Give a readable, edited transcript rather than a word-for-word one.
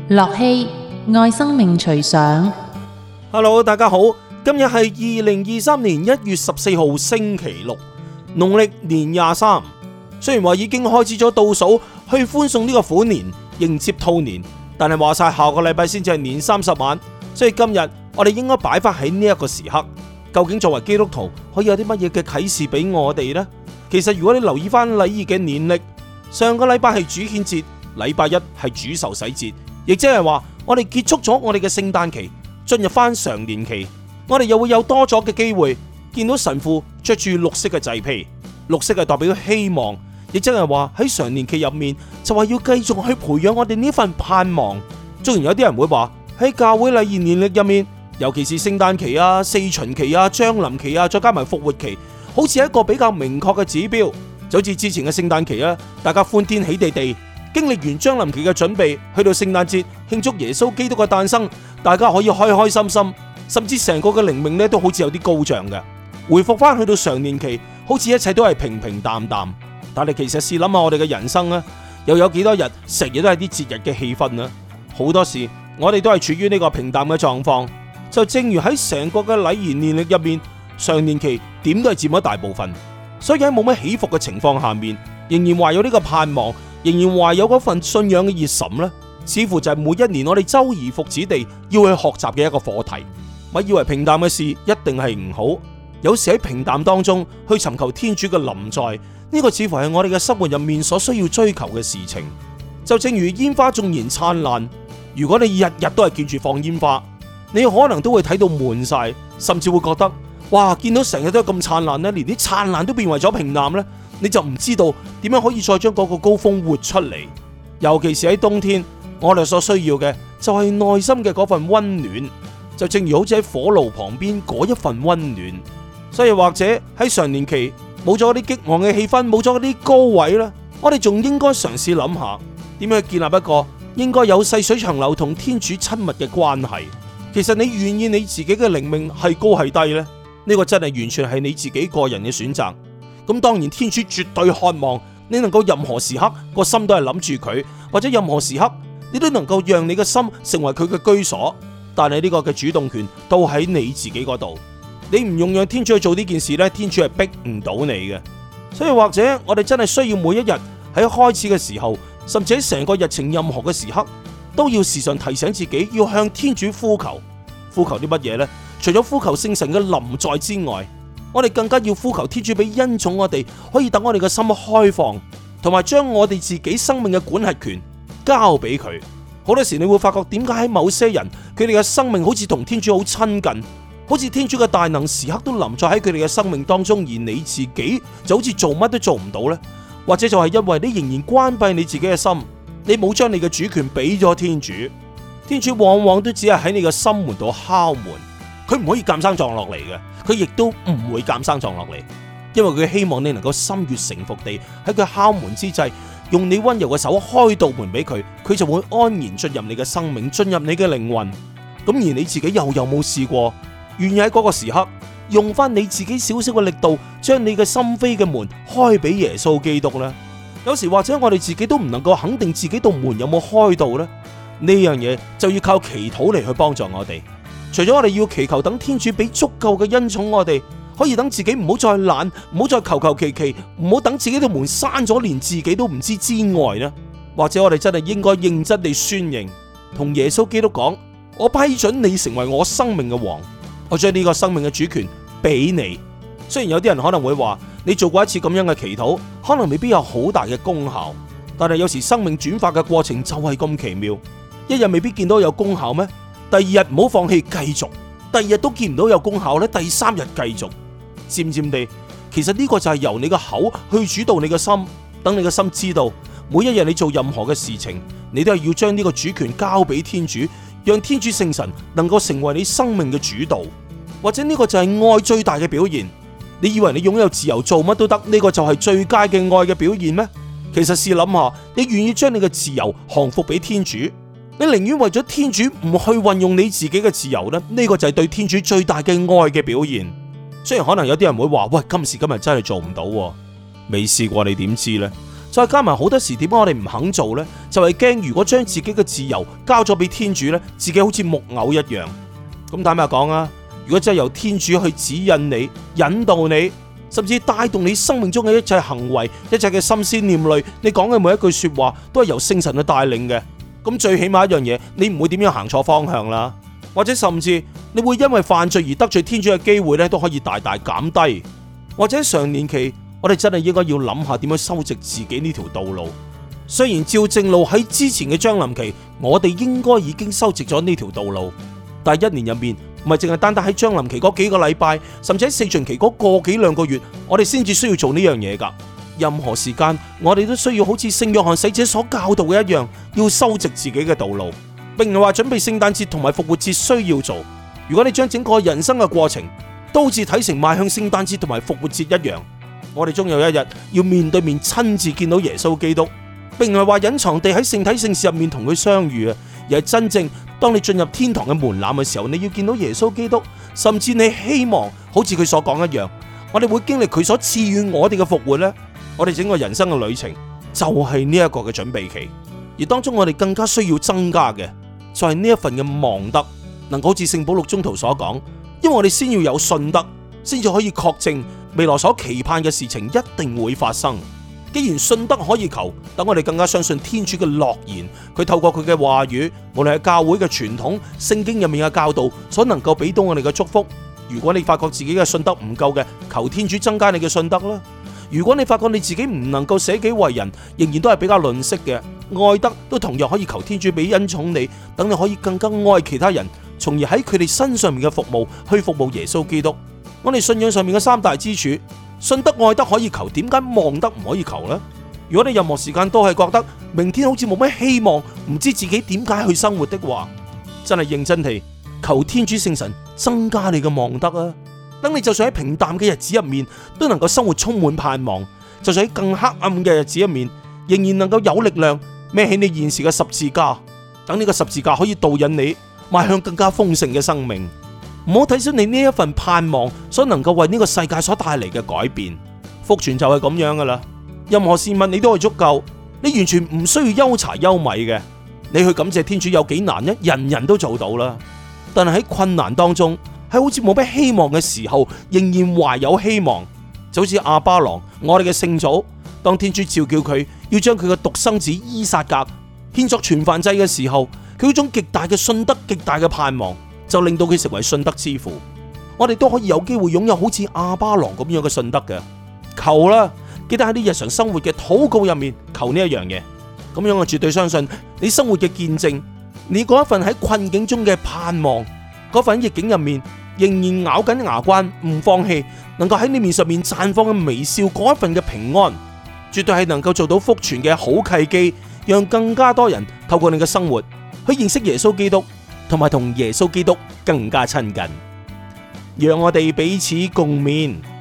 樂熙愛生命隨想。 Hello， 大家好，今日係2023年1月14號星期六，農曆年23。雖然話已經開始咗倒數去歡送呢個虎年，迎接兔年，但係話晒下個禮拜先至係年30晚，所以今日我哋應該擺翻喺呢一個時刻。究竟作為基督徒可以有啲乜嘢嘅啟示俾我哋呢？其實如果你留意翻禮儀嘅年曆，上個禮拜係主顯節，禮拜一係主受洗節，亦即係話我哋結束咗我哋嘅聖誕期，進入翻常年期，我哋又會有多咗嘅機會見到神父着住綠色嘅祭披，綠色係代表希望，亦即係話喺常年期入面就係要繼續去培養我哋呢份盼望。雖然有啲人會話喺教會禮儀年曆入面，尤其是聖誕期啊、四旬期啊、將臨期啊，再加埋復活期，好似一個比較明確嘅指標。就好似之前嘅聖誕期啊，大家歡天喜地地經歷完將臨期嘅準備，去到聖誕節慶祝耶穌基督嘅誕生，大家可以開開心心，甚至成個嘅靈命咧都好似有啲高漲嘅。回復翻去到常年期，好似一切都係平平淡淡。但係其實試諗下我哋嘅人生啊，又有幾多日成日都係啲節日嘅氣氛啊？好多時我哋都係處於呢個平淡嘅狀況。就正如喺成個嘅禮儀年曆入面，常年期點都係佔咗大部分。所以喺冇乜起伏嘅情況下面，仍然懷有呢個盼望，仍然懷有嗰份信仰嘅熱忱呢，似乎就係每一年我哋周而復始地要去學習嘅一個課題。咪以為平淡嘅事一定係唔好，有時喺平淡當中去尋求天主嘅臨在，呢個似乎係我哋嘅生活入面所需要追求嘅事情。就正如煙花縱然燦爛，如果你日日都係見住放煙花，你可能都會睇到悶晒，甚至會覺得哇，見到成日都咁燦爛咧，連啲燦爛都變為咗平淡咧，你就唔知道點樣可以再將嗰個高峰活出嚟。尤其是喺冬天，我哋所需要嘅就係內心嘅嗰份溫暖，就正如好似喺火爐旁邊嗰一份溫暖。所以或者喺常年期冇咗嗰啲激昂嘅氣氛，冇咗嗰啲高位啦，我哋仲應該嘗試諗下點樣去建立一個應該有細水長流同天主親密嘅關係。其實你願意你自己嘅靈命係高係低呢？呢個真係完全係你自己個人嘅選擇。咁當然天主絕對渴望你能夠任何時刻個心都係諗住佢，或者任何時刻你都能夠讓你嘅心成為佢嘅居所。但係呢個嘅主動權都喺你自己嗰度。你唔用讓天主去做呢件事呢，天主係逼唔到你嘅。所以或者我哋真係需要每一日喺開始嘅時候，甚至喺成個日程任何嘅時刻，都要時常提醒自己要向天主呼求。呼求啲乜嘢呢？除咗呼求聖神嘅臨在之外，我哋更加要呼求天主俾恩寵我哋，可以等我哋嘅心開放，同埋將我哋自己生命嘅管轄權交俾佢。好多時你會發覺點解喺某些人佢哋嘅生命好似同天主好親近，好似天主嘅大能時刻都臨在喺佢哋嘅生命當中，而你自己就好似做乜都做唔到呢？或者就係因為你仍然關閉你自己嘅心，你冇將你嘅主權俾咗天主。天主往往都只係喺你嘅心門度敲門，佢唔可以監生撞落嚟嘅，佢亦都唔會監生撞落嚟，因為佢希望你能夠心悅誠服地喺佢敲門之際，用你溫柔嘅手開道門俾佢，佢就會安然進入你嘅生命，進入你嘅靈魂。咁而你自己又有冇試過，願意喺嗰個時刻用翻你自己少少嘅力度，將你嘅心扉嘅門開俾耶穌基督呢？有時或者我哋自己都唔能夠肯定自己道門有冇開到呢？呢樣嘢就要靠祈禱嚟去幫助我哋。除咗我哋要祈求等天主俾足夠嘅恩寵我哋，可以等自己唔好再懶，唔好再求求其其，唔好等自己嘅門閂咗連自己都唔知之外呢，或者我哋真係應該認真地宣認，同耶穌基督講：我批准你成為我生命嘅王，我將呢個生命嘅主權俾你。雖然有啲人可能會話，你做過一次咁樣嘅祈禱，可能未必有好大嘅功效，但係有時生命轉化嘅過程就係咁奇妙。一日未必見到有功效咩？第二日唔好放棄，繼續。第二日都見唔到有功效咧，第三日繼續。漸漸地，其實呢個就係由你嘅口去主導你嘅心，等你嘅心知道，每一日你做任何嘅事情，你都係要將呢個主權交俾天主，讓天主聖神能夠成為你生命嘅主導。或者呢個就係愛最大嘅表現。你以為你擁有自由做乜都得，呢個就係最佳嘅愛嘅表現咩？其實試諗下，你願意將你嘅自由降服俾天主？你寧願為咗天主唔去運用你自己嘅自由呢？呢個就係對天主最大嘅愛嘅表現。雖然可能有啲人會話：喂，今時今日真係做唔到，未試過你點知呢？ 再加埋好多時點解我哋唔肯做呢？就係驚如果將自己嘅自由交咗俾天主呢，自己好似木偶一樣。咁坦白講啊，如果真係由天主去指引你、引導你，甚至帶動你生命中嘅一切行為、一切嘅心思念慮，你講嘅每一句說話都係由聖神去帶領嘅。咁最起碼一樣嘢，你唔會點樣行錯方向啦，或者甚至你會因為犯罪而得罪天主嘅機會咧，都可以大大減低。或者常年期，我哋真係應該要諗下點樣修直自己呢條道路。雖然照正路喺之前嘅將臨期，我哋應該已經修直咗呢條道路，但係一年入面唔係淨係單單喺將臨期嗰幾個禮拜，甚至喺四旬期嗰個幾兩個月，我哋先至需要做呢樣嘢噶。任何時間，我哋都需要好似聖約翰洗者所教導嘅一樣，要修直自己嘅道路，並唔係話準備聖誕節同埋復活節需要做。如果你將整個人生嘅過程都好似睇成邁向聖誕節同埋復活節一樣，我哋終有一日要面對面親自見到耶穌基督，並唔係話隱藏地喺聖體聖事入面同佢相遇啊，而係真正當你進入天堂嘅門檻嘅時候，你要見到耶穌基督，甚至你希望好似佢所講一樣，我哋會經歷佢所賜予我哋嘅復活呢。我哋整個人生嘅旅程就係呢一個嘅準備期，而當中我哋更加需要增加嘅就係呢一份嘅望德，能夠好似聖保祿宗徒所講，因為我哋先要有信德，先至可以確證未來所期盼嘅事情一定會發生。既然信德可以求，等我哋更加相信天主嘅諾言，佢透過佢嘅話語，無論係教會嘅傳統、聖經入面嘅教導，所能夠俾到我哋嘅祝福。如果你發覺自己嘅信德唔夠嘅，求天主增加你嘅信德啦。如果你發覺你自己唔能夠捨己為人，仍然都係比較吝嗇嘅，愛德都同樣可以求天主俾恩寵你，等你可以更加愛其他人，從而喺佢哋身上面嘅服務去服務耶穌基督。我哋信仰上面嘅三大支柱，信德愛德可以求，點解望德唔可以求呢？如果你任何時間都係覺得明天好似冇咩希望，唔知自己點解去生活的話，真係認真地求天主聖神增加你嘅望德啊！等你就算喺平淡嘅日子入面都能夠生活充滿盼望，就算喺更黑暗嘅日子入面仍然能夠有力量孭起你現時嘅十字架，等呢個十字架可以導引你邁向更加豐盛嘅生命。唔好睇小你呢一份盼望所能夠為呢個世界所帶嚟嘅改變。福傳就係咁樣噶啦，任何事物你都係足夠，你完全唔需要憂柴憂米嘅。你去感謝天主有幾難呢？人人都做到啦。但係喺困難當中，喺好似冇咩希望嘅時候，仍然懷有希望，就好似亞巴郎，我哋嘅聖祖，當天主召叫佢要將佢嘅獨生子依撒格獻作全燔祭嘅時候，佢嗰種極大嘅信德、極大嘅盼望，就令到佢成為信德之父。我哋都可以有機會擁有好似亞巴郎咁樣嘅信德嘅。求啦，記得喺啲日常生活嘅禱告入面求呢一樣嘢，咁樣我絕對相信你生活嘅見證，你嗰一份喺困境中嘅盼望，嗰份逆境入面仍然咬緊牙關唔放棄，能夠喺你面上面綻放嘅微笑，嗰一份嘅平安，絕對係能夠做到福傳嘅好契機，讓更加多人透過你嘅生活去認識耶穌基督，同埋同耶穌基督更加親近。讓我哋彼此共勉。